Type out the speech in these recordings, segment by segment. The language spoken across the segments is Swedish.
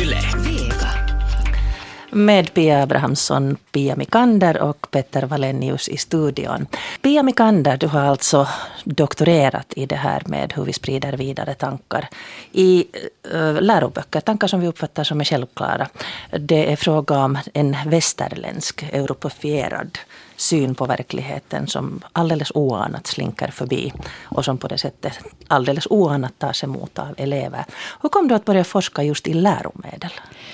Yle. Vega. Med Pia Abrahamsson, Pia Mikander och Petter Wallenius i studion. Pia Mikander, du har alltså doktorerat i det här med hur vi sprider vidare tankar i läroböcker, tankar som vi uppfattar som är självklara. Det är fråga om en västerländsk, europefierad syn på verkligheten som alldeles oanat slinker förbi och som på det sättet alldeles oanat tas emot av elever. Hur kom du att börja forska just i läromedel?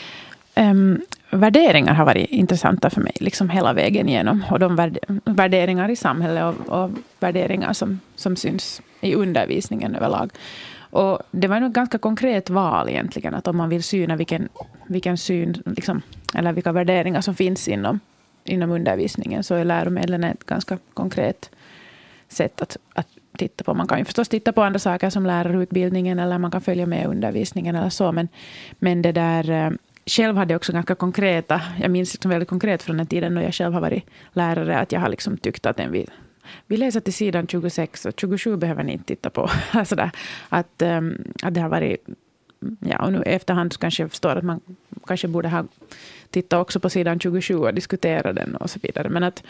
Värderingar har varit intressanta för mig liksom hela vägen igenom. Och de värderingar i samhället och värderingar som syns i undervisningen överlag. Och det var nog ganska konkret val egentligen. Att om man vill syna vilken syn liksom, eller vilka värderingar som finns inom undervisningen, så är läromedlen ett ganska konkret sätt att titta på. Man kan ju förstås titta på andra saker som lärarutbildningen, eller man kan följa med undervisningen eller så. Men det där... Själv hade jag också ganska konkreta, jag minns liksom väldigt konkret från den tiden när jag själv har varit lärare, att jag har liksom tyckt att vi läser till sidan 26 och 27 behöver ni inte titta på. Alltså att det har varit, ja, och nu efterhand kanske jag förstår att man kanske borde ha tittat också på sidan 27 och diskutera den och så vidare. Men att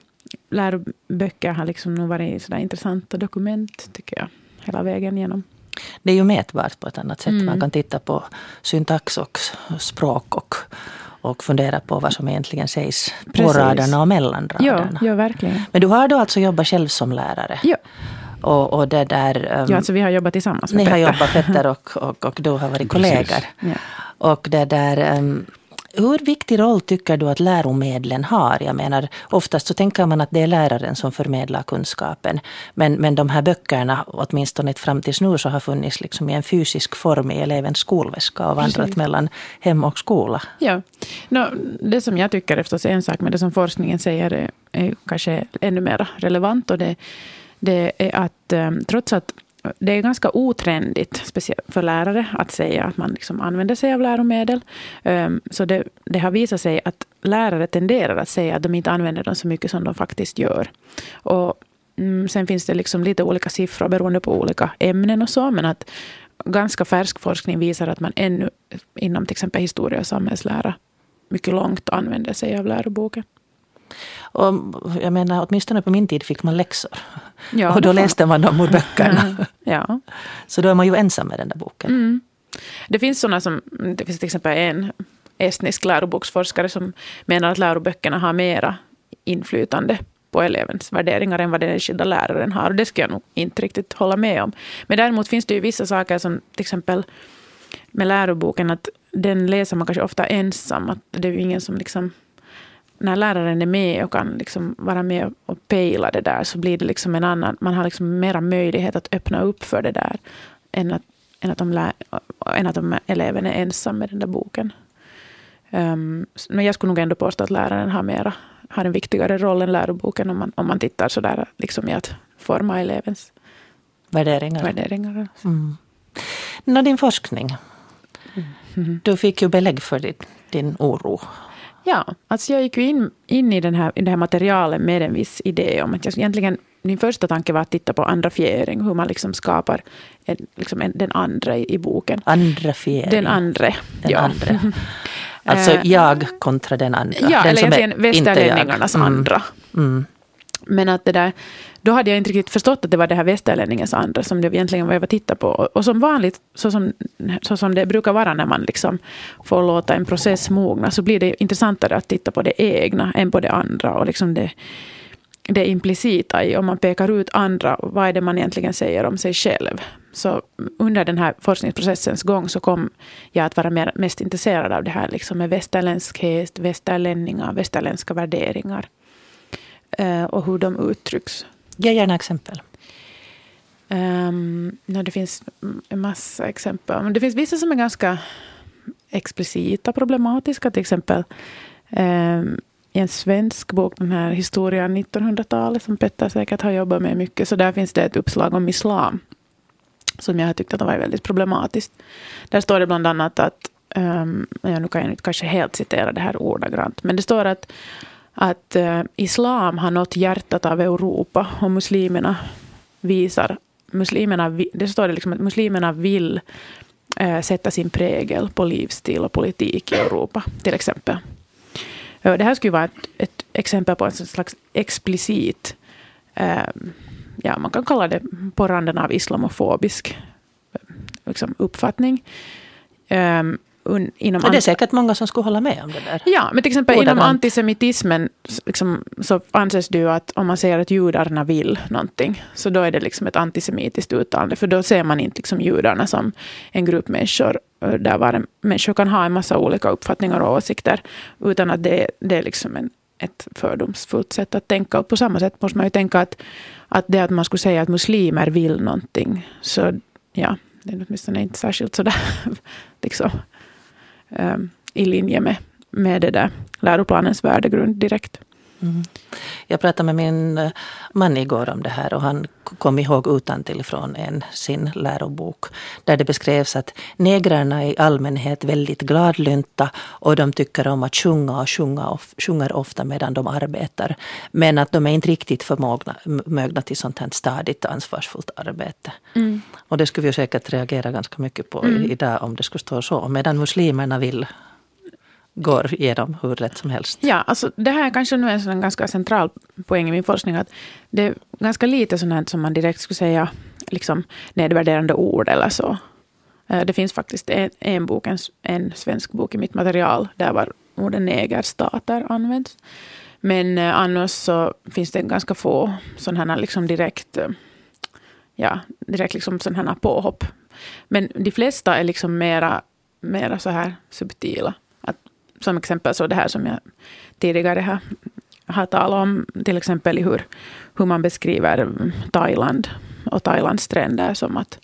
läroböcker har liksom nog varit sådär intressanta dokument, tycker jag, hela vägen igenom. Det är ju mätbart på ett annat sätt. Man kan titta på syntax och språk och fundera på vad som egentligen sägs på raderna och mellan raderna. Ja, verkligen. Men du har då alltså jobbat själv som lärare? Ja. Och det där... ja, alltså vi har jobbat tillsammans med Petter. Ni har jobbat, Petter och du har varit kollegor. Ja. Och det där... Hur viktig roll tycker du att läromedlen har? Jag menar, oftast så tänker man att det är läraren som förmedlar kunskapen. Men de här böckerna, åtminstone fram tills nu, så har funnits liksom i en fysisk form i elevens skolväska och vandrat mellan hem och skola. Ja, det som jag tycker är förstås en sak, men det som forskningen säger är kanske ännu mer relevant. Och det är att trots att det är ganska otrendigt, speciellt för lärare, att säga att man liksom använder sig av läromedel. Så det har visat sig att lärare tenderar att säga att de inte använder dem så mycket som de faktiskt gör. Och sen finns det liksom lite olika siffror beroende på olika ämnen och så, men att ganska färsk forskning visar att man ännu inom till exempel historia och samhällslära mycket långt använder sig av läroboken. Och jag menar, åtminstone på min tid fick man läxor. Ja, och då läste man dem ur böckerna. Ja. Så då är man ju ensam med den där boken. Det finns det finns till exempel en estnisk läroboksforskare som menar att läroböckerna har mera inflytande på elevens värderingar än vad den skilda läraren har. Och det ska jag nog inte riktigt hålla med om. Men däremot finns det ju vissa saker som till exempel med läroboken, att den läser man kanske ofta ensam. Att det är ju ingen som liksom... När läraren är med och kan liksom vara med och pejla det där, så blir det liksom en annan... Man har liksom mera möjlighet att öppna upp för det där än att om eleven är ensam med den där boken. Men jag skulle nog ändå påstå att läraren har en viktigare roll än läroboken om man tittar så där liksom i att forma elevens värderingar. Din forskning. Du fick ju belägg för din oro. Ja, alltså jag gick ju in i det här materialet med en viss idé om att min första tanke var att titta på andrafiering, hur man liksom skapar den andra i boken. Andrafiering? Den andra. Alltså jag kontra den andra. Ja, den eller som egentligen västerlänningarnas andra. Men att det där, då hade jag inte riktigt förstått att det var det här västerlänningens andra som det egentligen var jag var titta på. Och som vanligt, så som det brukar vara när man liksom får låta en process mogna, så blir det intressantare att titta på det egna än på det andra. Och liksom det implicita i, om man pekar ut andra, vad är det man egentligen säger om sig själv. Så under den här forskningsprocessens gång så kom jag att vara mest intresserad av det här liksom med västerländskhet, västerlänningar, västerländska värderingar. Och hur de uttrycks. Ge gärna exempel. Det finns en massa exempel. Men det finns vissa som är ganska explicita, problematiska. Till exempel i en svensk bok, den här historien 1900-talet, som Petter säkert har jobbat med mycket. Så där finns det ett uppslag om islam som jag har tyckt att det var väldigt problematiskt. Där står det bland annat att, nu kan jag inte kanske helt citera det här ordagrant, men det står att islam har nått hjärtat av Europa och det står det liksom att muslimerna vill sätta sin prägel på livsstil och politik i Europa till exempel. Det här skulle vara ett exempel på en slags explicit, man kan kalla det på randen av islamofobisk liksom, uppfattning. Inom det är säkert många som skulle hålla med om det där. Ja, men till exempel inom antisemitismen liksom, så anses det ju att om man säger att judarna vill någonting, så då är det liksom ett antisemitiskt uttalande, för då ser man inte liksom judarna som en grupp människor där var människor kan ha en massa olika uppfattningar och åsikter, utan att det är liksom ett fördomsfullt sätt att tänka. Och på samma sätt måste man ju tänka att det att man skulle säga att muslimer vill någonting, så ja, det är åtminstone inte särskilt sådär liksom i linje med det där läroplanens värdegrund direkt. Mm. Jag pratade med min man igår om det här, och han kom ihåg utantill från sin lärobok där det beskrevs att negrarna i allmänhet väldigt gladlynta, och de tycker om att sjunga och sjunger ofta medan de arbetar, men att de är inte riktigt förmögna till sånt här stadigt ansvarsfullt arbete. Mm. Och det skulle vi säkert reagera ganska mycket på idag om det skulle stå så, medan muslimerna går igenom hur rätt som helst. Ja, alltså det här är kanske nu en sån ganska central poäng i min forskning, att det är ganska lite sånt här som man direkt skulle säga liksom nedvärderande ord eller så. Det finns faktiskt en bok, en svensk bok i mitt material där var orden negerstater används. Men annars så finns det ganska få sådana här liksom direkt liksom sådana här påhopp. Men de flesta är liksom mera så här subtila. Som exempel så det här som jag tidigare har talat om, till exempel i hur man beskriver Thailand och Thailands stränder, som att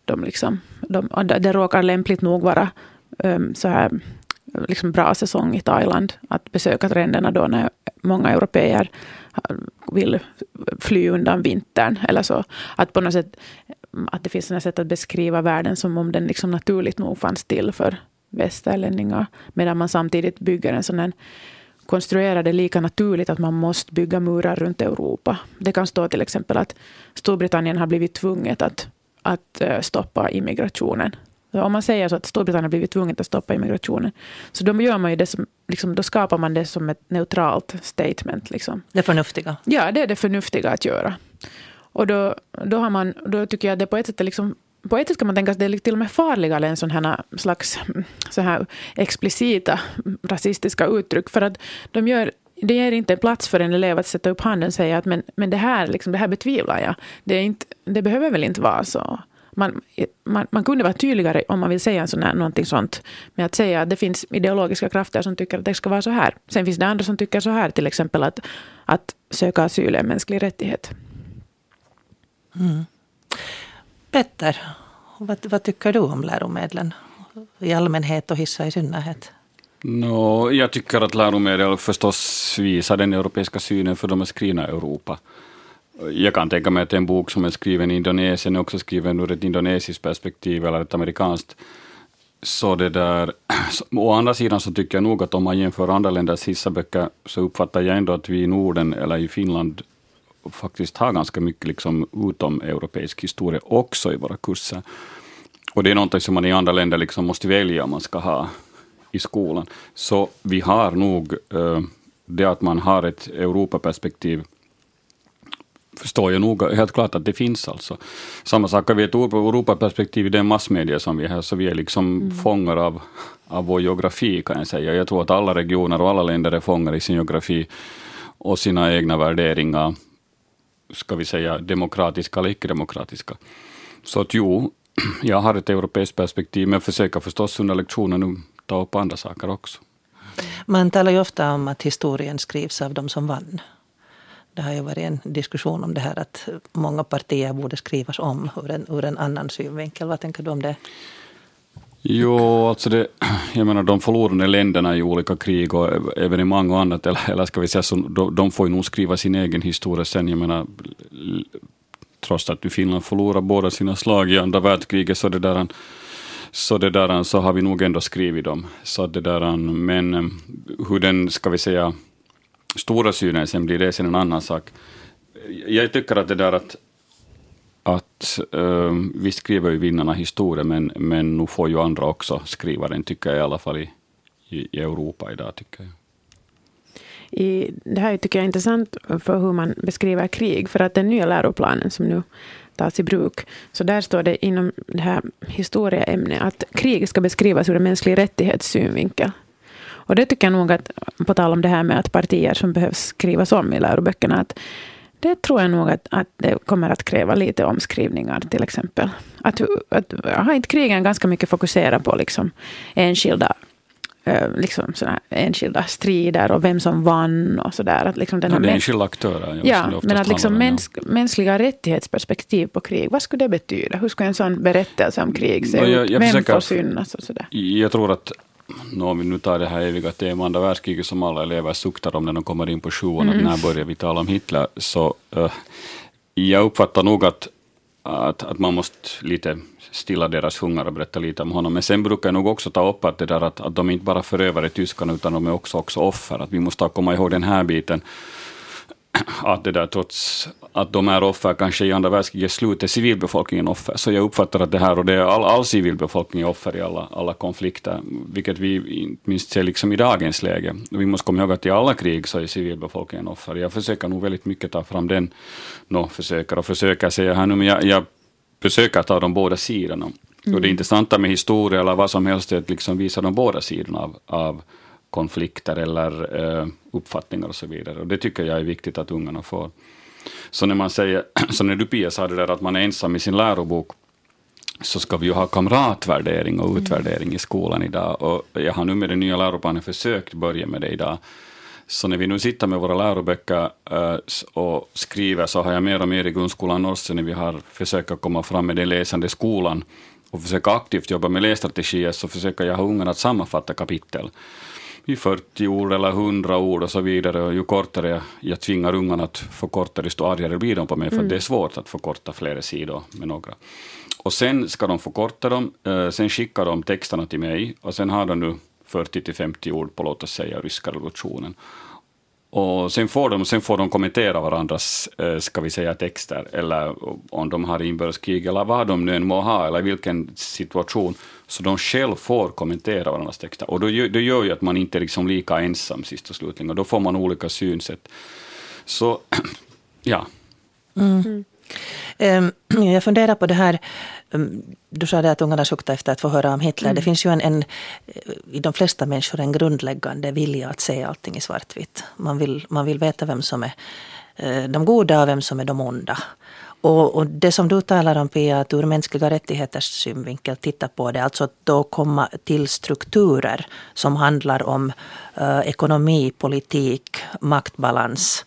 det råkar lämpligt nog vara så här liksom bra säsong i Thailand att besöka stränderna då när många europeer vill fly undan vintern eller så, att på något sätt att det finns ett sätt att beskriva världen som om den liksom naturligt nog fanns till för västerlänningar, medan man samtidigt bygger en sån här, konstruerar det lika naturligt att man måste bygga murar runt Europa. Det kan stå till exempel att Storbritannien har blivit tvunget att stoppa immigrationen. Så om man säger så att Storbritannien har blivit tvunget att stoppa immigrationen, så då gör man ju det som, liksom, då skapar man det som ett neutralt statement. Liksom. Det förnuftiga. Ja, det är det förnuftiga att göra. Och då tycker jag att det på ett sätt är liksom, på ett sätt kan man tänka att det är till och med farligare än sån här slags så här explicita rasistiska uttryck, för att det ger inte en plats för en elev att sätta upp handen och säga att men det här betvivlar jag. Det behöver väl inte vara så. Man kunde vara tydligare om man vill säga någonting sånt, med att säga att det finns ideologiska krafter som tycker att det ska vara så här. Sen finns det andra som tycker så här, till exempel att söka asyl är en mänsklig rättighet. Mm. Petter, vad tycker du om läromedlen i allmänhet och hissa i synnerhet? Jag tycker att läromedel förstås visar den europeiska synen, för de är skrivna i Europa. Jag kan tänka mig att en bok som är skriven i Indonesien är också skriven ur ett indonesiskt perspektiv eller ett amerikanskt. Så det där, å andra sidan så tycker jag nog att om man jämför andra länders hissaböcker, så uppfattar jag ändå att vi i Norden eller i Finland faktiskt har ganska mycket liksom utom europeisk historia också i våra kurser. Och det är något som man i andra länder liksom måste välja om man ska ha i skolan. Så vi har nog det att man har ett Europaperspektiv, förstår jag nog helt klart att det finns alltså. Samma sak har vi ett Europaperspektiv i den massmedia som vi har, så vi är liksom fångar av vår geografi, kan jag säga. Jag tror att alla regioner och alla länder är fångar i sin geografi och sina egna värderingar, ska vi säga demokratiska eller icke-demokratiska. Så att jag har ett europeiskt perspektiv, men försöker förstås under lektionen nu ta upp andra saker också. Man talar ju ofta om att historien skrivs av de som vann. Det har ju varit en diskussion om det här att många partier borde skrivas om ur en annan synvinkel. Vad tänker du om det? Jo, alltså jag menar de förlorade länderna i olika krig och evenemang och annat, eller ska vi säga så, de får ju nog skriva sin egen historia sen. Jag menar, trots att Finland förlorar båda sina slag i andra världskriget, så har vi nog ändå skrivit dem. Men hur den, ska vi säga, stora synen sen blir det sen en annan sak. Jag tycker att det där att att vi skriver ju vinnarna historia, men nu får ju andra också skriva den, tycker jag, i alla fall i Europa idag, tycker jag. Det här tycker jag är intressant för hur man beskriver krig, för att den nya läroplanen som nu tas i bruk, så där står det inom det här historieämnet att krig ska beskrivas ur en mänsklig rättighetssynvinkel. Och det tycker jag nog att, på tal om det här med att partier som behövs skrivas om i läroböckerna, att det tror jag nog att det kommer att kräva lite omskrivningar till exempel. Att har inte krigen ganska mycket fokuserat på liksom enskilda strider och vem som vann och sådär. Att liksom det är enskilda aktörer. Ja, men att liksom mänskliga rättighetsperspektiv på krig, vad skulle det betyda? Hur skulle en sån berättelse om krig se ut? Vem får synas och sådär? Jag tror att om vi nu tar det här eviga temat andra världskriget som alla elever suktar om när de kommer in på sjuan, att när börjar vi tala om Hitler, så jag uppfattar nog att man måste lite stilla deras hunger och berätta lite om honom. Men sen brukar jag nog också ta upp att det där att de inte bara förövare tyskarna, utan de är också offer. Att vi måste komma ihåg den här biten. Att det där, trots att de är offer, kanske i andra världskrigets slut är civilbefolkningen offer. Så jag uppfattar att det här, och det är all civilbefolkning är offer i alla konflikter. Vilket vi inte minst ser liksom i dagens läge. Vi måste komma ihåg att i alla krig så är civilbefolkningen offer. Jag försöker nog väldigt mycket ta fram den. Försöker säga här nu, men jag försöker ta de båda sidorna. Och det intressanta med historia eller vad som helst är att liksom visa de båda sidorna av konflikter eller uppfattningar och så vidare. Och det tycker jag är viktigt att ungarna får. Så när man säger, så när du Pia sa det där att man är ensam i sin lärobok, så ska vi ju ha kamratvärdering och utvärdering i skolan idag. Och jag har nu med den nya läroplanen försökt börja med det idag. Så när vi nu sitter med våra läroböcker och skriver, så har jag mer och mer i grundskolan också när vi har försökt komma fram med den läsande skolan och försöka aktivt jobba med lässtrategier, så försöker jag ha ungarna att sammanfatta kapitel i 40 ord eller 100 ord och så vidare. Och ju kortare jag tvingar ungarna att förkorta, desto argare blir de på mig, för det är svårt att förkorta flera sidor med några. Och sen ska de förkorta dem, sen skickar de texterna till mig, och sen har de nu 40-50 ord på, låt oss säga, ryska revolutionen. Och sen får de kommentera varandras, ska vi säga, texter, eller om de har inbördeskrig eller vad de nu än må ha, eller vilken situation, så de själv får kommentera varandras texter. Och då gör ju att man inte är liksom lika ensam sist och slutligen, och då får man olika synsätt. Så, ja. Jag funderar på det här, du sa det att ungarna suktar efter att få höra om Hitler. Det finns ju i de flesta människor en grundläggande vilja att se allting i svartvitt. Man vill veta vem som är de goda och vem som är de onda. Och det som du talar om, Pia, att ur mänskliga rättigheters synvinkel titta på det, alltså att då komma till strukturer som handlar om ekonomi, politik, maktbalans,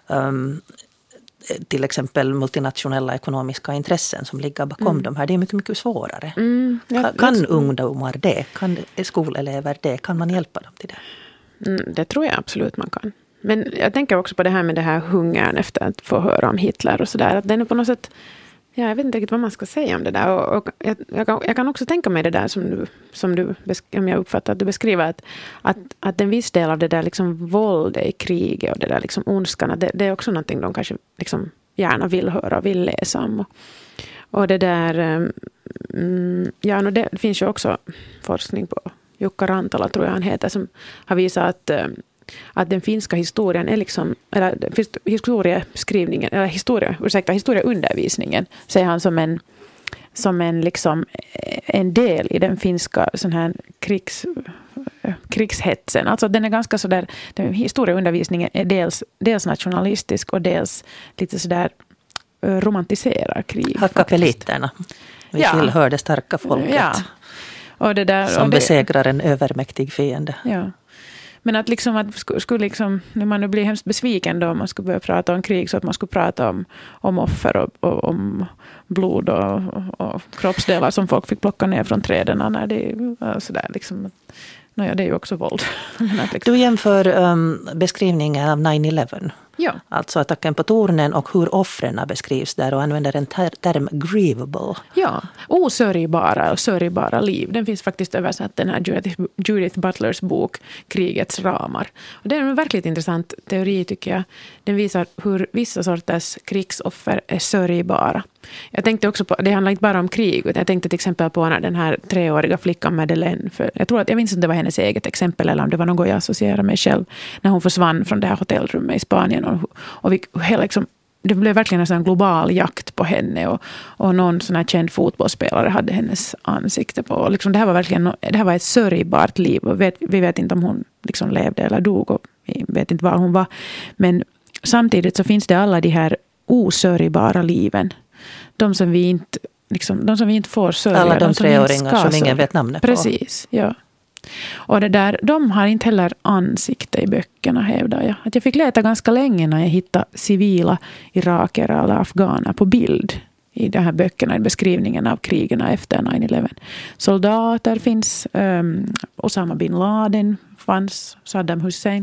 till exempel multinationella ekonomiska intressen som ligger bakom de här. Det är mycket, mycket svårare. Kan ungdomar det? Kan skolelever det? Kan man hjälpa dem till det? Det tror jag absolut man kan. Men jag tänker också på det här med det här hungern efter att få höra om Hitler och sådär. Att den är på något sätt, jag vet inte riktigt vad man ska säga om det där. Och jag kan också tänka mig det där som du om jag uppfattar att du beskriver, att en viss del av det där liksom våldet i kriget och det där liksom ondskan, det är också någonting de kanske liksom gärna vill höra och vill läsa om. Och det där, det finns ju också forskning på Jukka Rantala, tror jag han heter, som har visat att den finska historien är liksom, eller historieskrivningen, eller historieundervisningen, säger han som en liksom en del i den finska sån här krigshetsen. Alltså den är ganska så där, den historieundervisningen är dels nationalistisk och dels lite så där romantiserar krig. Hackapeliterna. Vi tillhör det starka folket. Ja. Och det där, som besegrar en övermäktig fiende. Ja. Men att liksom att skulle liksom, när man nu blir hemskt besviken då man skulle börja prata om krig, så att man skulle prata om offer och om blod och kroppsdelar som folk fick plocka ner från träden när det sådär liksom. Det är ju också våld. Du jämför beskrivningen av 9/11 Ja. Alltså attacken på tornen och hur offren beskrivs där och använder en term grievable. Ja, osörjbara och sörjbara liv. Den finns faktiskt översatt, den här Judith Butlers bok Krigets ramar. Och det är en verkligt intressant teori tycker jag. Den visar hur vissa sorters krigsoffer är sörjbara. Jag tänkte också på, det handlar inte bara om krig, utan jag tänkte till exempel på när den här 3-åriga flickan Madeleine, för jag minns inte om det var hennes eget exempel eller om det var något jag associerar mig själv, när hon försvann från det här hotellrummet i Spanien och liksom, det blev verkligen en sån global jakt på henne och någon sån här känd fotbollsspelare hade hennes ansikte på. Och liksom, det här var ett sörjbart liv och vi vet inte om hon liksom levde eller dog och vi vet inte var hon var. Men samtidigt så finns det alla de här osörjbara liven. De som vi inte får sörja. Alla de 3-åringar som ingen vet namnet på. Precis, ja. Och de har inte heller ansikte i böckerna, hävdar jag. Att jag fick leta ganska länge när jag hittade civila iraker eller afghaner på bild i de här böckerna, i beskrivningen av krigen efter 9/11. Soldater finns, Osama bin Laden fanns, Saddam Hussein.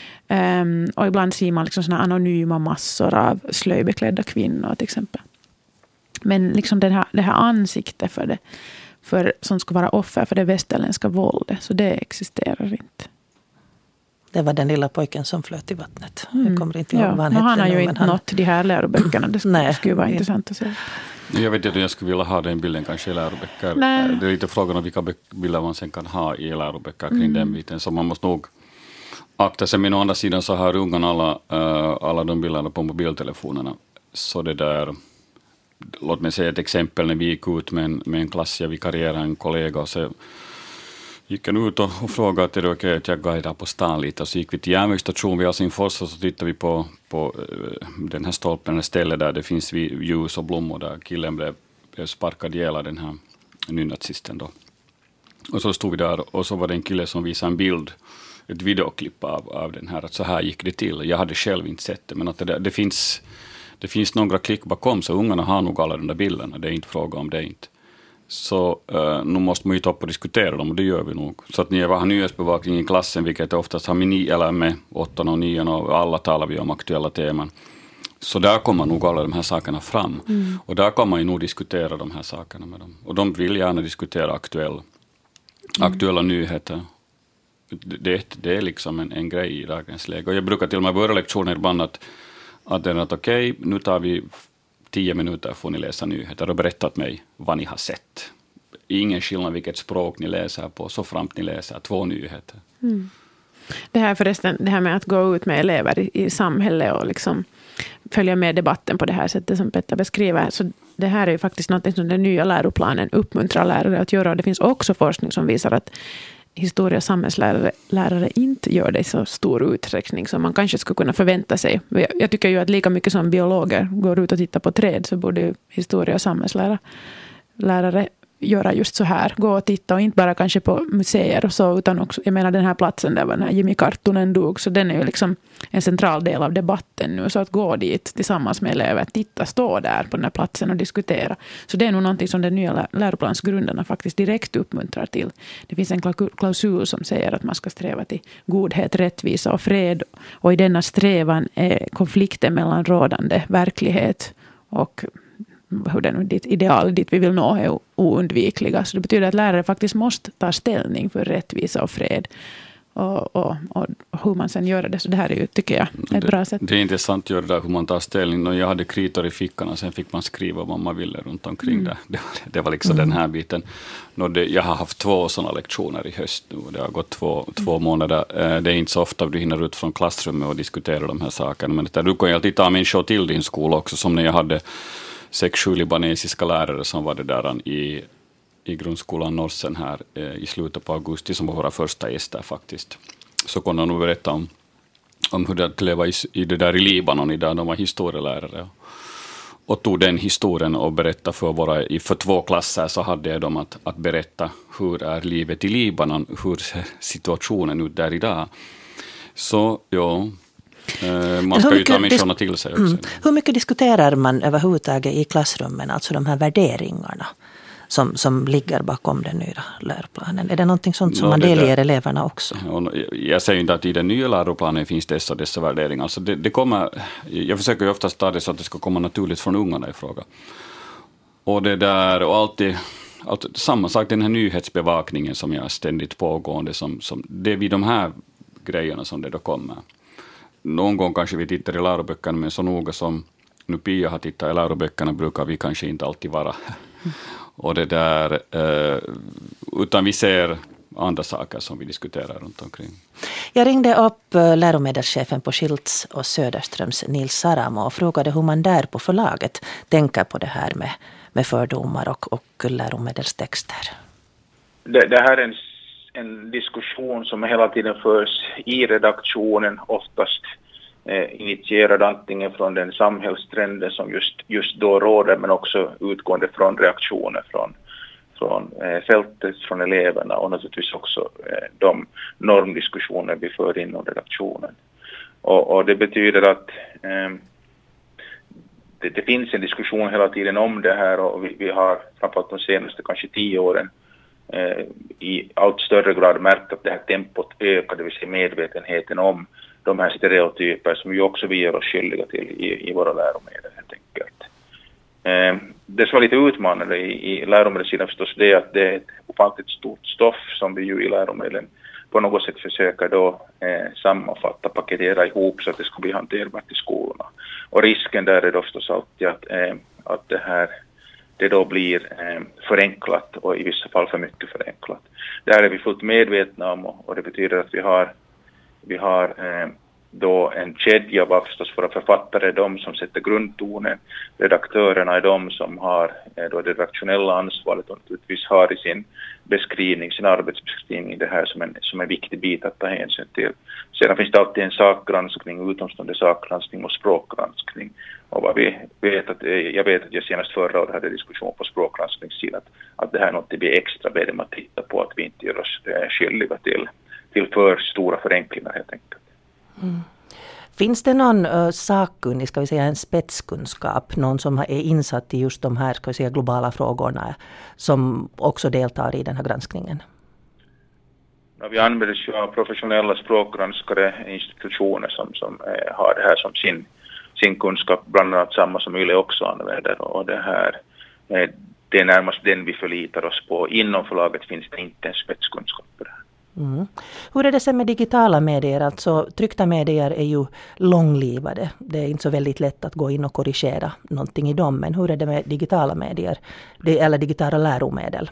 Och ibland ser man liksom såna anonyma massor av slöjbeklädda kvinnor till exempel. Men liksom det här ansiktet för som ska vara offer för det västerländska våldet, så det existerar inte. Det var den lilla pojken som flöt i vattnet. Jag kommer inte ihåg vad han hette. Han har ju inte nått de här läroböckerna. Det skulle vara intressant att se. Jag vet inte om jag skulle vilja ha den bilden kanske i läroböcker. Nej. Det är lite frågan om vilka bilder man sen kan ha i läroböcker kring den biten. Så man måste nog akta sig. Men å andra sidan så har ungarna alla de bilderna på mobiltelefonerna. Så det där... Låt mig säga ett exempel när vi gick ut med en klass, jag vikarierade en kollega och så gick jag ut och frågade att det är okej att jag guidar på stan lite. Och så gick vi till järnvägsstation vid Helsingfors och så tittade vi på den här stolpen, stället där det finns ljus och blommor där killen blev sparkad ihjäl av den här nynazisten då. Och så stod vi där och så var det en kille som visade en bild, ett videoklipp av den här, att så här gick det till. Jag hade själv inte sett det, men att det finns några klick bakom, så ungarna har nog alla de där bilderna. Det är inte fråga om det inte. Så nu måste man ju ta upp och diskutera dem, och det gör vi nog. Så att ni har nyhetsbevakning i klassen, vilket oftast har med 8 och 9 och alla talar vi om aktuella teman. Så där kommer nog alla de här sakerna fram. Och där kan man ju nog diskutera de här sakerna med dem. Och de vill gärna diskutera aktuella nyheter. Det är liksom en grej i dagens läge. Och jag brukar till och med börja lektioner ibland att okej, nu tar vi 10 minuter får ni läsa nyheter och berätta åt mig vad ni har sett. Ingen skillnad vilket språk ni läser på, så framt ni läser 2 nyheter. Det här med att gå ut med elever i samhället och liksom följa med debatten på det här sättet som Petter beskriver. Så det här är ju faktiskt något som den nya läroplanen uppmuntrar lärare att göra. Och det finns också forskning som visar att historia- och samhällslärare inte gör det i så stor utsträckning som man kanske skulle kunna förvänta sig. Jag tycker ju att lika mycket som biologer går ut och tittar på träd, så borde historia- och samhällslärare göra just så här. Gå och titta, och inte bara kanske på museer och så, utan också, jag menar den här platsen där var den här Jimmy Karttunen dog, så den är ju liksom en central del av debatten nu. Så att gå dit tillsammans med elever, titta, stå där på den här platsen och diskutera. Så det är nog någonting som den nya läroplansgrundarna faktiskt direkt uppmuntrar till. Det finns en klausul som säger att man ska sträva till godhet, rättvisa och fred. Och i denna strävan är konflikten mellan rådande verklighet och hur den ideal dit vi vill nå är oundvikliga. Så det betyder att lärare faktiskt måste ta ställning för rättvisa och fred. Och hur man sen gör det. Så det här är ju, tycker jag, ett bra sätt. Det är intressant att göra det där hur man tar ställning. Jag hade kritor i fickan och sen fick man skriva vad man ville runt omkring det. Det var liksom den här biten. Jag har haft 2 sådana lektioner i höst nu. Det har gått 2 månader. Det är inte så ofta du hinner ut från klassrummet och diskutera de här sakerna. Men du kan ju alltid ta människor till din skola också, som när jag hade 6-7 libanesiska lärare som var det där i grundskolan Norsen här i slutet på augusti, som var våra första gäster faktiskt. Så kunde jag nog berätta om hur det att leva i det där i Libanon, där de var historielärare. Och tog den historien och berätta för 2 klasser, så hade jag dem att berätta hur är livet i Libanon, hur ser situationen ut där idag. Så ja... Man ska ju ta människorna till sig också. Hur mycket diskuterar man överhuvudtaget i klassrummen, alltså de här värderingarna? som ligger bakom den nya läroplanen? Är det någonting sånt som man delger eleverna också? Jag säger inte att i den nya läroplanen finns dessa värderingar. Så det kommer, jag försöker ju oftast ta det så att det ska komma naturligt från ungarna i fråga. Och det där, och alltid samma sak, den här nyhetsbevakningen som är ständigt pågående, som det är vid de här grejerna som det då kommer. Någon gång kanske vi tittar i läroböckerna, men så noga som nu Pia har tittat i läroböckerna brukar vi kanske inte alltid vara. Och det där, utan vi ser andra saker som vi diskuterar runt omkring. Jag ringde upp läromedelschefen på Schilds och Söderströms Nils Saramo och frågade hur man där på förlaget tänker på det här med fördomar och läromedelstexter. Det här är en diskussion som hela tiden förs i redaktionen, oftast initierad antingen från den samhällstrenden som just då råder, men också utgående från reaktioner från fältet, från eleverna och naturligtvis också de normdiskussioner vi för inom redaktionen. Och det betyder att det finns en diskussion hela tiden om det här, och vi har framförallt de senaste kanske 10 åren i allt större grad märkt att det här tempot ökar, det vill säga medvetenheten om de här stereotyper som ju också vi gör oss skyldiga till i våra läromedel helt enkelt. Det som var lite utmanande i läromedelssidan förstås det är att det är ett ofantligt stort stoff som vi ju i läromedlen på något sätt försöker då sammanfatta, paketera ihop så att det ska bli hanterbart i skolorna. Och risken där är då förstås alltid att det då blir förenklat och i vissa fall för mycket förenklat. Det här är vi fullt medvetna om, och det betyder att vi har då en kedja var förstås våra författare, de som sätter grundtonen, redaktörerna är de som har då det redaktionella ansvaret och naturligtvis har i sin arbetsbeskrivning det här som en viktig bit att ta hänsyn till. Sedan finns det alltid en sakgranskning, utomstående sakgranskning och språkgranskning. Och vad vi vet jag vet att jag senast förra året hade diskussion på språkgranskningssidan att det här är något vi är extra bedöm att titta på, att vi inte gör oss skyldiga till för stora förenklingar helt enkelt. Mm. Finns det någon sakkunnig, ska vi säga en spetskunskap, någon som är insatt i just de här, ska vi säga, globala frågorna som också deltar i den här granskningen? Ja, vi använder ju av professionella språkgranskare, institutioner som har det här som sin kunskap, bland annat samma som YLE också använder, och det här det är närmast den vi förlitar oss på. Inom förlaget finns det inte en spetskunskap på det här. Mm. Hur är det sen med digitala medier? Alltså tryckta medier är ju långlivade. Det är inte så väldigt lätt att gå in och korrigera någonting i dem. Men hur är det med digitala medier eller digitala läromedel?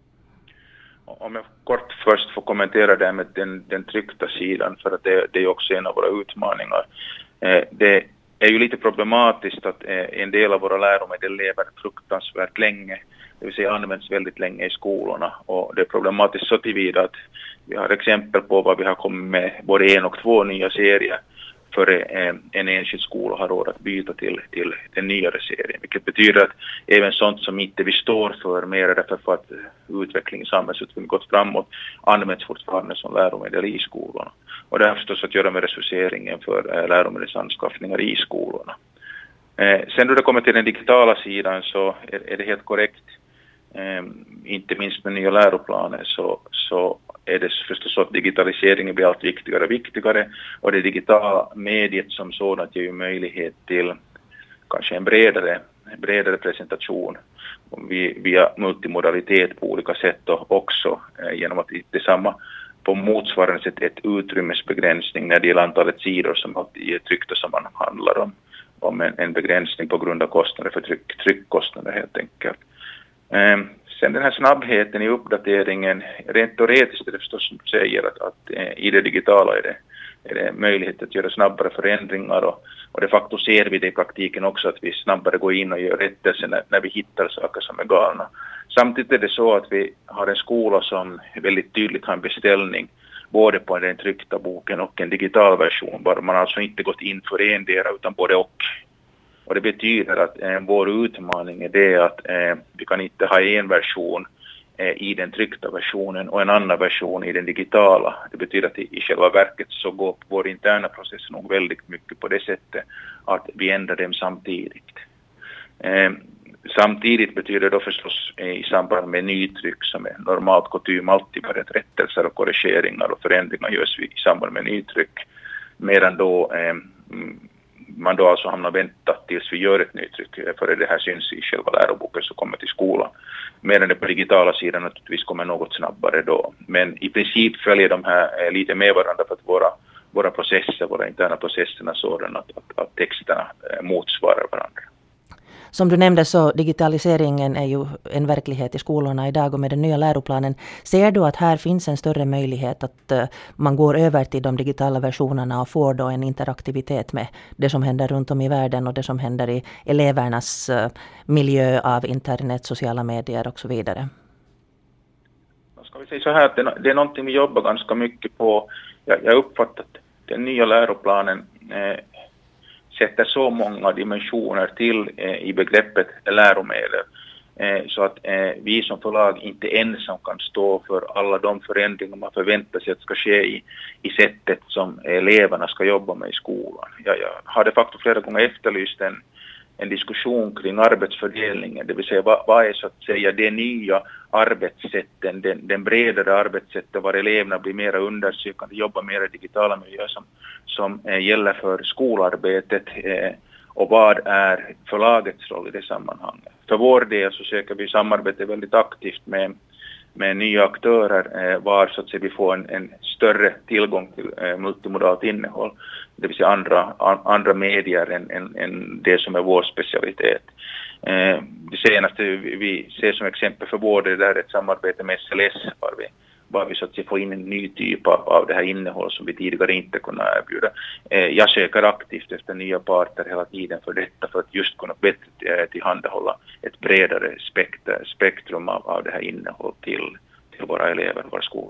Om jag kort först får kommentera det med den tryckta sidan, för att det är också en av våra utmaningar. Det är ju lite problematiskt att en del av våra läromedel lever fruktansvärt länge. Det vill säga används väldigt länge i skolorna, och det är problematiskt så tillvida att vi har exempel på vad vi har kommit med både 1 och 2 nya serier för en enskild skola har råd att byta till den nyare serien, vilket betyder att även sånt som inte vi står för mer därför för att samhällsutvecklingen gått framåt används fortfarande som läromedel i skolorna. Och det har förstås att göra med resurseringen för läromedelsanskaffningar i skolorna. Sen då det kommer till den digitala sidan så är det helt korrekt. Inte minst med nya läroplaner så är det förstås så att digitaliseringen blir allt viktigare och viktigare, och det digitala mediet som sådant ger ju möjlighet till kanske en bredare presentation via multimodalitet på olika sätt, och också genom att detsamma på motsvarande sätt ett utrymmesbegränsning när det gäller antalet sidor som alltid är tryckta som man handlar om en begränsning på grund av kostnader för tryckkostnader helt enkelt. Sen den här snabbheten i uppdateringen, rent teoretiskt är det förstås som du säger att i det digitala är det möjlighet att göra snabbare förändringar, och de facto ser vi det i praktiken också att vi snabbare går in och gör rättelser när vi hittar saker som är galna. Samtidigt är det så att vi har en skola som väldigt tydligt har en beställning både på den tryckta boken och en digital version, bara man alltså inte gått in för endera utan både och. Och det betyder att vår utmaning är det att vi kan inte ha en version i den tryckta versionen och en annan version i den digitala. Det betyder att i själva verket så går vår interna process nog väldigt mycket på det sättet att vi ändrar dem samtidigt. Samtidigt betyder det då förstås i samband med nytryck som är normalt kutym alltid med rättelser och korrigeringar och förändringar görs i samband med nytryck. Medan då man då alltså hamnar vänta tills vi gör ett nytryck för det här syns i själva läroboken som kommer till skolan. Medan det på digitala sidan naturligtvis kommer något snabbare då. Men i princip följer de här lite med varandra för att våra processer, våra interna processerna sådana att texterna motsvarar varandra. Som du nämnde så digitaliseringen är ju en verklighet i skolorna idag och med den nya läroplanen. Ser du att här finns en större möjlighet att man går över till de digitala versionerna och får då en interaktivitet med det som händer runt om i världen och det som händer i elevernas miljö av internet, sociala medier och så vidare? Ska vi säga så här att det är någonting vi jobbar ganska mycket på. Jag uppfattar att den nya läroplanen sätter så många dimensioner till i begreppet läromedel så att vi som förlag inte ensam kan stå för alla de förändringar man förväntar sig att ska ske i sättet som eleverna ska jobba med i skolan. Jag har de facto flera gånger efterlyst en diskussion kring arbetsfördelningen, det vill säga vad är så att säga det nya arbetssätten, den bredare arbetssättet var eleverna blir mer undersökande, jobbar mer i digitala miljöer som gäller för skolarbetet och vad är förlagets roll i det sammanhanget. För vår del så söker vi samarbete väldigt aktivt med nya aktörer var så att säga, vi får en större tillgång till multimodalt innehåll, det vill säga andra medier än det som är vår specialitet. Det senaste vi ser som exempel för vår del är ett samarbete med SLS var vi så att säga får in en ny typ av det här innehåll som vi tidigare inte kunde erbjuda. Jag söker aktivt efter nya parter hela tiden för detta för att just kunna bättre tillhandahålla ett bredare spektrum av det här innehållet till våra elever, våra skolor.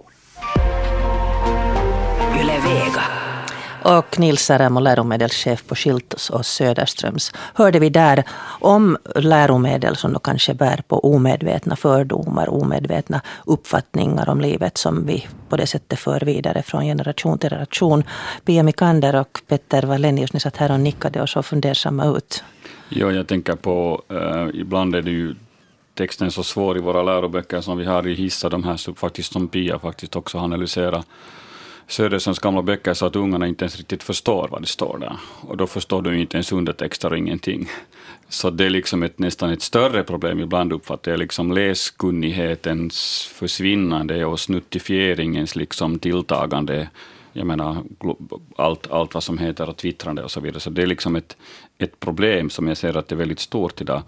Yle Vega. Och Nils Saramo, läromedelschef på Schiltos och Söderströms, hörde vi där om läromedel som då kanske bär på omedvetna fördomar, omedvetna uppfattningar om livet som vi på det sättet för vidare från generation till generation. Pia Mikander och Petter Wallenius, ni satt här och nickade och så fundersamma ut. Ja, jag tänker på, ibland är det ju texten så svår i våra läroböcker som vi har i Hissa, de här faktiskt som Pia faktiskt också analyserar Söderströms gamla böcker så att ungarna inte ens riktigt förstår vad det står där. Och då förstår du inte ens undertexter och ingenting. Så det är liksom nästan ett större problem ibland uppfattar jag liksom läskunnighetens försvinnande och snuttifieringens liksom tilltagande. Jag menar allt vad som heter och twittrande och så vidare. Så det är liksom ett problem som jag ser att det är väldigt stort idag.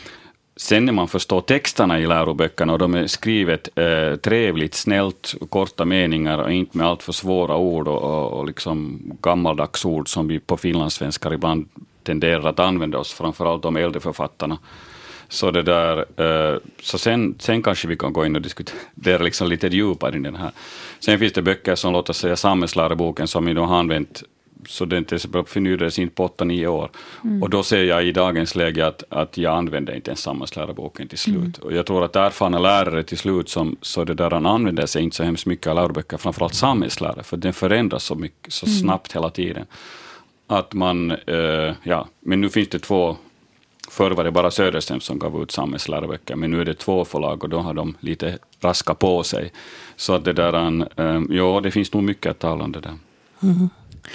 Sen när man förstår texterna i läroböckerna och de är skrivet trevligt, snällt, korta meningar och inte med allt för svåra ord och liksom gammaldags ord som vi på finlandssvenskar ibland tenderar att använda oss, framförallt de äldre författarna. Så det där, så sen kanske vi kan gå in och diskutera liksom lite djupare i den här. Sen finns det böcker som låter säga samhällsläroboken som vi då har använt så den till exempel förnyades inte på 8-9 år. Och då ser jag i dagens läge att jag använder inte ens samhällsläroboken till slut. Och jag tror att erfarna lärare till slut så det där han använder sig inte så hemskt mycket av läroböcker, framförallt samhällslärare, för den förändras så snabbt hela tiden. Att man, men nu finns det 2, förr var det bara Söderström som gav ut samhällsläroböcker, men nu är det 2 förlag och då har de lite raska på sig. Så att det där, det finns nog mycket att tala om det där. Mm.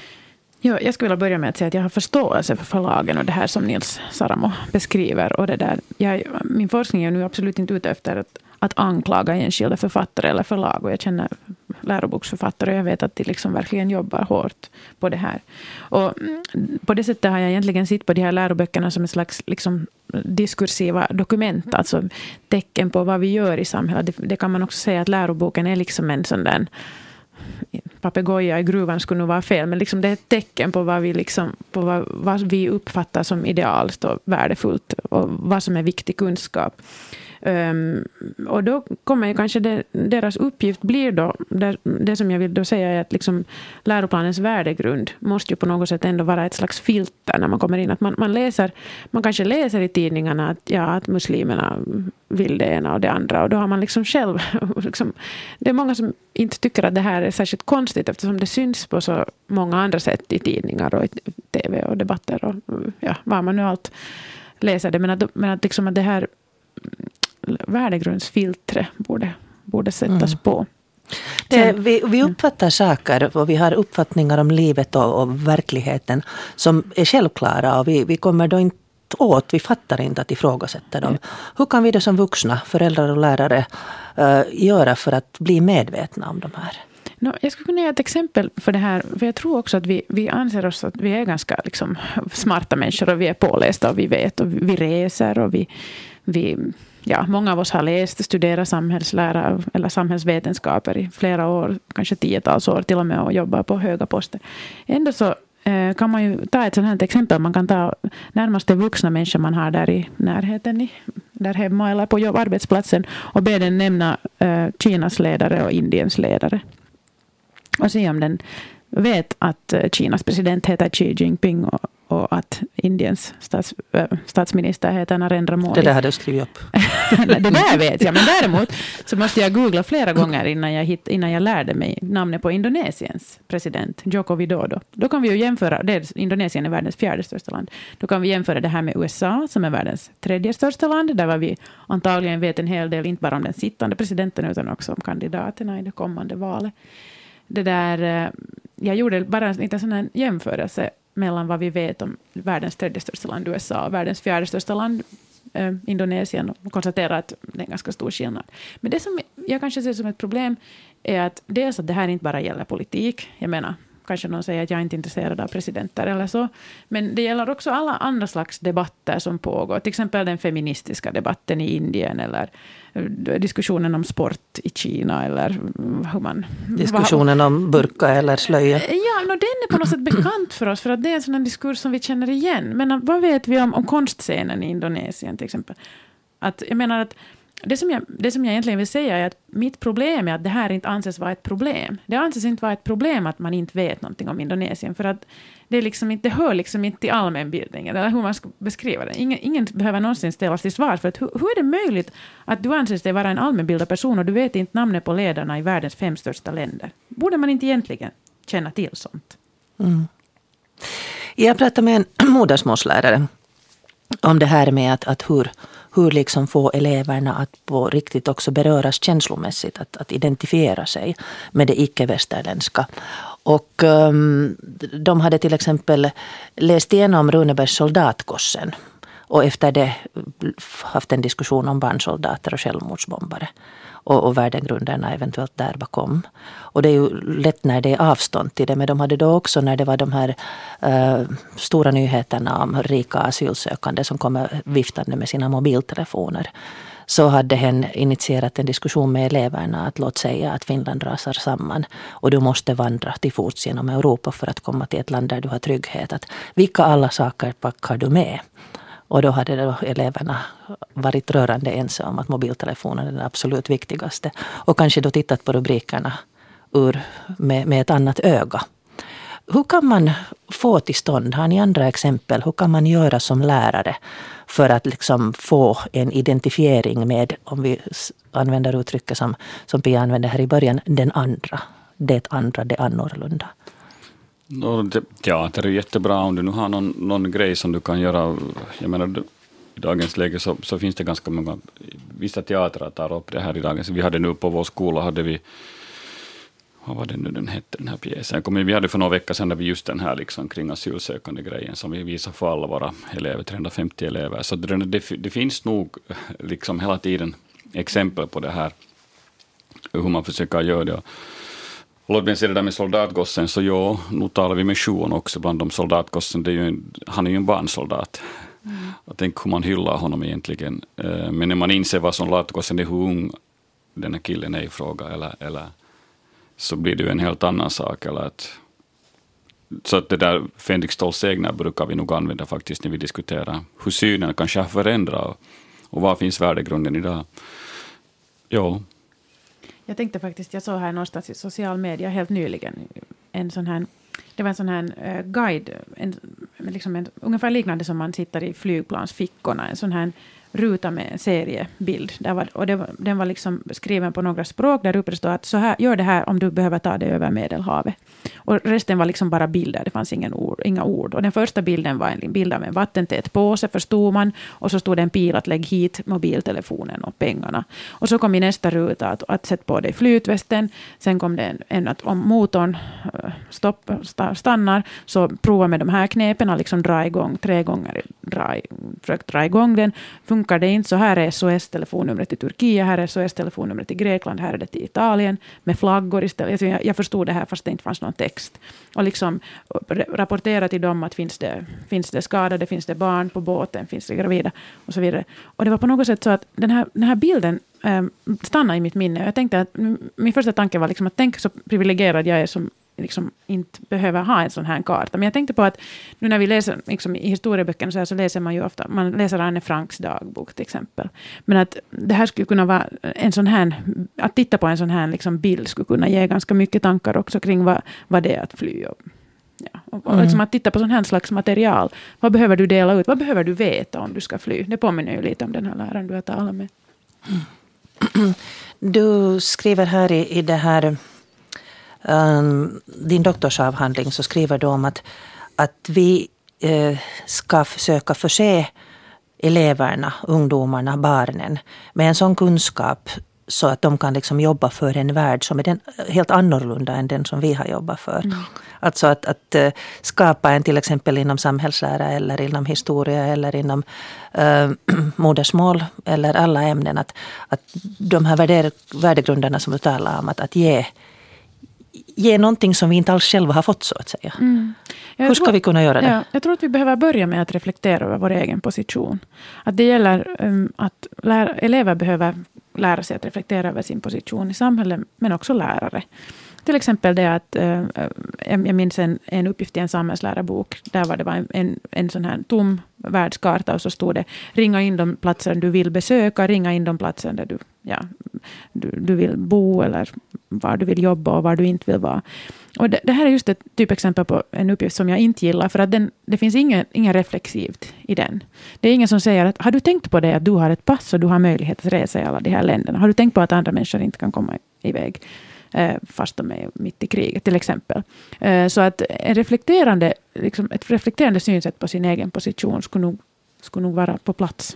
Ja, jag skulle vilja börja med att säga att jag har förståelse för förlagen och det här som Nils Saramo beskriver. Och det där. Min forskning är nu absolut inte ute efter att anklaga enskilda författare eller förlag. Och jag känner läroboksförfattare och jag vet att de liksom verkligen jobbar hårt på det här. Och på det sättet har jag egentligen sett på de här läroböckerna som en slags liksom diskursiva dokument. Alltså tecken på vad vi gör i samhället. Det kan man också säga att läroboken är liksom en sån där papegoja i gruvan skulle nog vara fel, men liksom det är ett tecken på vad vi liksom, på vad vi uppfattar som idealiskt och värdefullt och vad som är viktig kunskap. Och då kommer ju kanske deras uppgift blir då, det som jag vill då säga är att liksom läroplanens värdegrund måste ju på något sätt ändå vara ett slags filter när man kommer in. Att man kanske läser i tidningarna att muslimerna vill det ena och det andra, och då har man liksom själv liksom, det är många som inte tycker att det här är särskilt konstigt eftersom det syns på så många andra sätt i tidningar och i tv och debatter och vad man nu allt läsa det. Men att, liksom att det här värdegrundsfiltret borde sättas på. Vi uppfattar saker och vi har uppfattningar om livet och verkligheten som är självklara och vi kommer då inte vi fattar inte att ifrågasätta dem. Hur kan vi då som vuxna, föräldrar och lärare göra för att bli medvetna om de här? Jag skulle kunna ge ett exempel för det här. För jag tror också att vi anser oss att vi är ganska liksom smarta människor och vi är pålästa och vi vet och vi reser och många av oss har läst och studerat samhällslära eller samhällsvetenskaper i flera år, kanske 10-tals år till och med och jobbar på höga poster. Ändå så kan man ju ta ett sådant här exempel. Man kan ta närmaste vuxna människor man har där i närheten, där hemma eller på arbetsplatsen och be den nämna Kinas ledare och Indiens ledare. Och se om den vet att Kinas president heter Xi Jinping och att Indiens statsminister heter Narendra Modi. Det där hade jag skrivit upp. Det där vet jag, men däremot så måste jag googla flera gånger innan jag lärde mig namnet på Indonesiens president, Joko Widodo. Då kan vi ju jämföra, Indonesien är världens 4:e största land. Då kan vi jämföra det här med USA som är världens 3:e största land, där vi antagligen vet en hel del, inte bara om den sittande presidenten utan också om kandidaterna i det kommande valet. Jag gjorde bara en liten sån här jämförelse mellan vad vi vet om världens 3:e största land USA och världens 4:e största land Indonesien och konstaterar att det är en ganska stor skillnad. Men det som jag kanske ser som ett problem är att dels att det här inte bara gäller politik. Jag menar, kanske någon säger att jag inte är intresserad av presidenter eller så. Men det gäller också alla andra slags debatter som pågår. Till exempel den feministiska debatten i Indien eller diskussionen om sport i Kina eller hur man... Diskussionen om burka eller slöja. Ja, den är på något sätt bekant för oss för att det är en sån diskurs som vi känner igen. Men vad vet vi om konstscenen i Indonesien till exempel? Att, jag menar att det som jag egentligen vill säga är att mitt problem är att det här inte anses vara ett problem. Det anses inte vara ett problem att man inte vet någonting om Indonesien för att det hör liksom inte till allmänbildningen eller hur man ska beskriva det. Ingen behöver någonsin ställas till svar för att hur är det möjligt att du anses dig vara en allmänbildad person och du vet inte namnet på ledarna i världens 5 största länder? Borde man inte egentligen känna till sånt? Mm. Jag pratade med en modersmålslärare om det här med att hur liksom få eleverna att på riktigt också beröras känslomässigt, att identifiera sig med det icke-västerländska. Och de hade till exempel läst igenom Runebergs Soldatgossen och efter det haft en diskussion om barnsoldater och självmordsbombare och värdegrunderna eventuellt där bakom. Och det är ju lätt när det är avstånd till det, men de hade då också när det var de här stora nyheterna om rika asylsökande som kommer viftande med sina mobiltelefoner, så hade hen initierat en diskussion med eleverna att låt säga att Finland rasar samman och du måste vandra till fots genom Europa för att komma till ett land där du har trygghet. Att vilka alla saker packar du med? Och då hade då eleverna varit rörande ense om att mobiltelefonen är det absolut viktigaste. Och kanske då tittat på rubrikerna med ett annat öga. Hur kan man få till stånd, har ni andra exempel, hur kan man göra som lärare för att liksom få en identifiering med, om vi använder uttrycket som Pia använde här i början, den andra, det annorlunda? Teater är jättebra om du nu har någon grej som du kan göra. Jag menar, i dagens läge så finns det ganska många, vissa teatrar tar upp det här i dagens. Vi hade nu på vår skola, hade vi, vad var det nu den hette, den här pjäsen? Vi hade för några veckor sedan där vi just den här liksom kring asylsökande grejen som vi visar för alla våra elever, 350 elever. Så det finns nog liksom hela tiden exempel på det här, hur man försöker göra det. Låt mig säga det där med soldatgossen, så nu talar vi med Sjuon också bland de soldatgossen. Han är ju en barnsoldat. Jag tänker hur man hyllar honom egentligen. Men när man inser vad soldatgossen är, hur ung den här killen är i fråga, eller så blir det ju en helt annan sak. Så att det där Fänrik Ståls egna brukar vi nog använda faktiskt när vi diskuterar hur synen kanske har förändrat och vad finns värdegrunden idag. Ja. Jag tänkte faktiskt, jag såg här någonstans i social media helt nyligen det var en sån här guide, ungefär liknande som man sitter i flygplansfickorna, en sån här ruta med en seriebild. Den var liksom skriven på några språk. Där uppe stod att så här, gör det här om du behöver ta det över Medelhavet. Och resten var liksom bara bilder. Det fanns inga ord. Och den första bilden var en bild av en vattentät påse, förstod man. Och så stod det en pil att lägg hit mobiltelefonen och pengarna. Och så kom i nästa ruta att sätta på dig flytvästen. Sen kom det en att om motorn stannar så prova med de här knepen. Liksom dra igång 3 gånger. Försök dra igång den. Funkar det inte så här är SOS-telefonnumret till Turkiet. Här är SOS-telefonnumret till Grekland. Här är det till Italien. Med flaggor istället. Jag förstod det här fast det inte fanns någon text. Och liksom rapportera till dem att finns det skadade, finns det barn på båten, finns det gravida och så vidare. Och det var på något sätt så att den här bilden stannade i mitt minne. Jag tänkte att min första tanke var liksom att tänk så privilegierad jag är som liksom inte behöver ha en sån här karta. Men jag tänkte på att nu när vi läser liksom i historieböckerna så läser man ju ofta, man läser Anne Franks dagbok till exempel. Men att det här skulle kunna vara en sån här, att titta på en sån här liksom bild skulle kunna ge ganska mycket tankar också kring vad det är att fly. Och liksom att titta på sån här slags material. Vad behöver du dela ut? Vad behöver du veta om du ska fly? Det påminner ju lite om den här läraren du har talat med. Du skriver här i det här din doktorsavhandling så skriver du om att vi ska försöka förse eleverna, ungdomarna, barnen med en sån kunskap så att de kan liksom jobba för en värld som är helt annorlunda än den som vi har jobbat för. Alltså att skapa en till exempel inom samhällslära eller inom historia eller inom modersmål eller alla ämnen. Att de här värdegrunderna som du talar om, att ge någonting som vi inte alls själva har fått så att säga. Hur ska vi kunna göra det? Ja, jag tror att vi behöver börja med att reflektera över vår egen position. Att det gäller att elever behöver lära sig att reflektera över sin position i samhället, men också lärare. Till exempel det att jag minns en uppgift i en samhällslärarbok. Där var det en sån här tom världskarta och så stod det ringa in de platser du vill besöka, ringa in de platser där du vill bo eller var du vill jobba och var du inte vill vara. Och det här är just ett typexempel på en uppgift som jag inte gillar för att det finns inga reflexivt i den. Det är ingen som säger att har du tänkt på det att du har ett pass och du har möjlighet att resa i alla de här länderna? Har du tänkt på att andra människor inte kan komma iväg fast de är mitt i kriget till exempel? Så att ett reflekterande synsätt på sin egen position skulle nog vara på plats.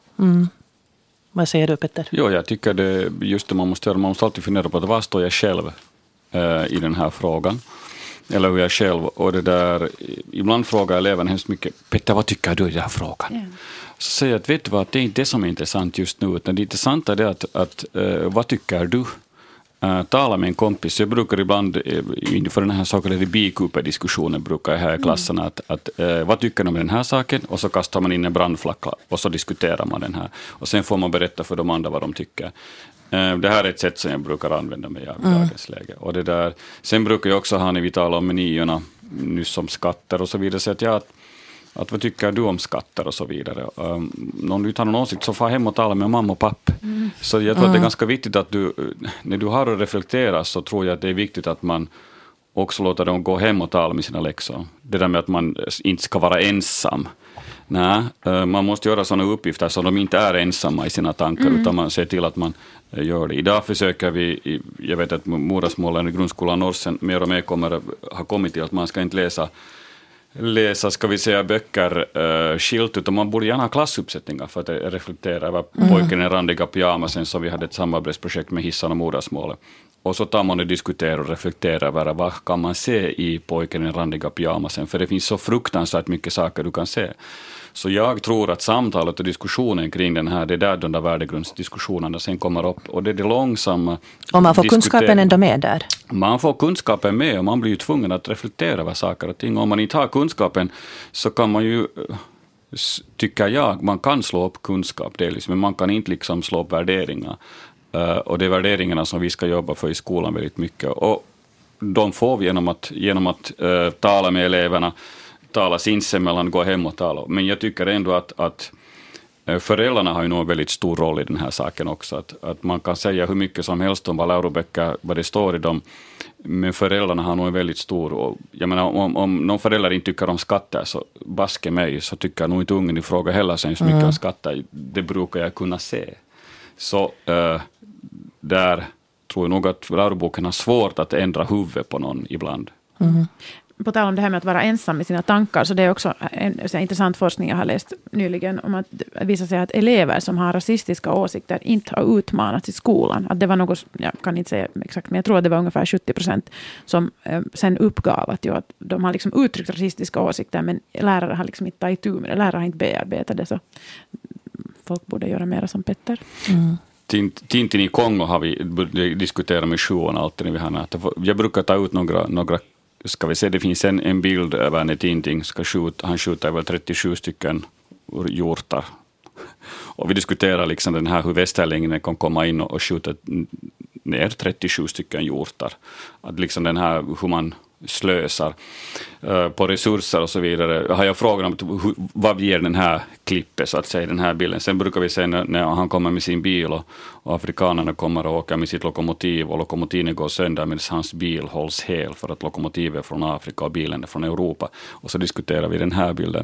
Vad säger du, Petter? Jo, jag tycker det just det man måste alltid fundera på att vad står jag själv i den här frågan. Eller hur jag själv, och det där, ibland frågar eleverna hemskt mycket, Petter, vad tycker du i den här frågan? Yeah. Så säger jag att vet du vad, det är inte det som är intressant just nu, utan det intressanta är att vad tycker du? Tala med en kompis. Jag brukar ibland inför den här saken, eller bikuper-diskussionen brukar jag här i klassen att vad tycker de om den här saken? Och så kastar man in en brandflagga och så diskuterar man den här. Och sen får man berätta för de andra vad de tycker. Det här är ett sätt som jag brukar använda mig av i dagens läge. Och det där, sen brukar jag också ha när vi talar om menyerna nyss om skatter och så vidare. Så att vad tycker du om skatter och så vidare. Om du tar någon åsikt så far hem och tala med mamma och pappa. Så jag tror att det är ganska viktigt att när du har att reflektera så tror jag att det är viktigt att man också låter dem gå hem och tala med sina läxor. Det där med att man inte ska vara ensam. Nej, man måste göra sådana uppgifter så de inte är ensamma i sina tankar utan man ser till att man gör det. Idag försöker vi, jag vet att modersmålen i grundskolan Norsen mer och mer har kommit till att man ska inte läsa ska vi säga böcker skilt, utan man borde gärna ha klassuppsättningar för att reflektera över pojken i randiga pyjamasen som vi hade ett samarbetsprojekt med Hissan och modersmålet. Och så tar man och diskuterar och reflekterar över vad kan man se i pojken i randiga pyjamasen, för det finns så fruktansvärt mycket saker du kan se. Så jag tror att samtalet och diskussionen kring den här, det är där de där värdegrundsdiskussionerna sen kommer upp. Och det är det långsamma. Och man får kunskapen ändå med där? Man får kunskapen med och man blir ju tvungen att reflektera över saker och ting. Om man inte har kunskapen så kan man ju, tycker jag, man kan slå upp kunskap delvis, men man kan inte liksom slå upp värderingar. Och det är värderingarna som vi ska jobba för i skolan väldigt mycket. Och de får vi genom att tala med eleverna, tala sinsemellan, gå hem och tala. Men jag tycker ändå att Föräldrarna har ju nog en väldigt stor roll i den här saken också. Att man kan säga hur mycket som helst om vad läroböcker, vad det står i dem. Men föräldrarna har nog en väldigt stor... Och jag menar, om någon förälder inte tycker om skatter, så baske mig, så tycker nog inte ungen i fråga heller så mycket om skatter. Det brukar jag kunna se. Så där tror jag nog att läroboken har svårt att ändra huvudet på någon ibland. På tal om det här med att vara ensam med sina tankar, så det är också en intressant forskning jag har läst nyligen om att visa sig att elever som har rasistiska åsikter inte har utmanats i skolan. Att det var något, jag kan inte säga exakt, men jag tror att det var ungefär 70% som sen uppgav att de har liksom uttryckt rasistiska åsikter, men lärare har liksom inte tagit itu med det. Lärare har inte bearbetat det, så folk borde göra mer som Petter. Tintin i Kongo har vi diskuterat med sjuan alltid när vi har nätet. Jag brukar ta ut några ska vi se, det finns en bild över när Tintin han skjuter väl 37 stycken hjortar. Och vi diskuterar liksom den här hur västerlängen kan komma in och skjuta ner 37 stycken hjortar. Att liksom den här hur man slösar på resurser och så vidare. Har jag frågat om vad ger den här klippet, så att säga, den här bilden. Sen brukar vi se när han kommer med sin bil och afrikanerna kommer och åker med sitt lokomotiv och lokomotiven går sönder medan hans bil hålls hel för att lokomotivet är från Afrika och bilen är från Europa. Och så diskuterar vi den här bilden.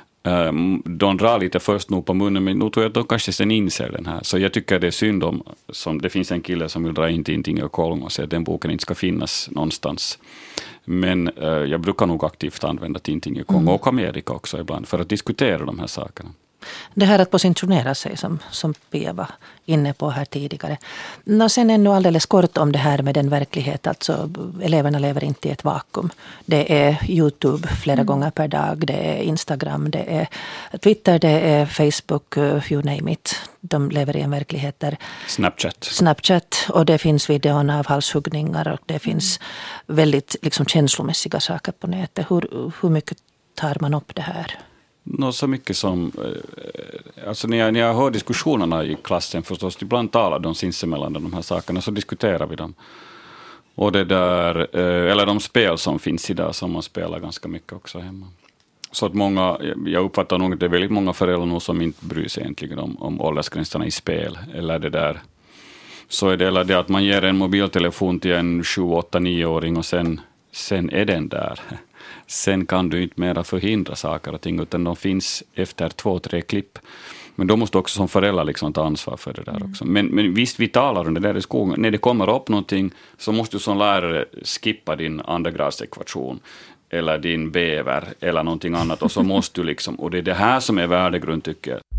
De drar lite först nog på munnen, men nu tror jag att de kanske sen inser den här. Så jag tycker det är synd om, som det finns en kille som vill dra in Tintin och Kongo och säga att den boken inte ska finnas någonstans. Men jag brukar nog aktivt använda Tintin och Kongo och Amerika också ibland för att diskutera de här sakerna. Det här att positionera sig som Pia var inne på här tidigare. Sen ännu alldeles kort om det här med den verklighet. Alltså eleverna lever inte i ett vakuum. Det är YouTube flera gånger per dag. Det är Instagram, det är Twitter, det är Facebook, you name it. De lever i en verklighet där... Snapchat. Och det finns videon av halshuggningar och det finns väldigt liksom känslomässiga saker på nätet. Hur mycket tar man upp det här? Så mycket som, alltså när jag hör diskussionerna i klassen förstås, ibland talar de sinsemellan de här sakerna, så diskuterar vi dem. Och det där, eller de spel som finns idag som man spelar ganska mycket också hemma. Så att många, jag uppfattar nog att det är väldigt många föräldrar som inte bryr sig egentligen om åldersgränserna i spel, eller det där. Så är det, eller det att man ger en mobiltelefon till en 7-8-9-åring och sen är den där. Sen kan du inte mera förhindra saker och ting, utan de finns efter 2-3 klipp. Men då måste också som föräldrar liksom ta ansvar för det där också. Men visst, vi talar om det där i skolan. När det kommer upp någonting så måste du som lärare skippa din andragradsekvation eller din bäver eller någonting annat. Och så måste du liksom, och det är det här som är värdegrund tycker jag.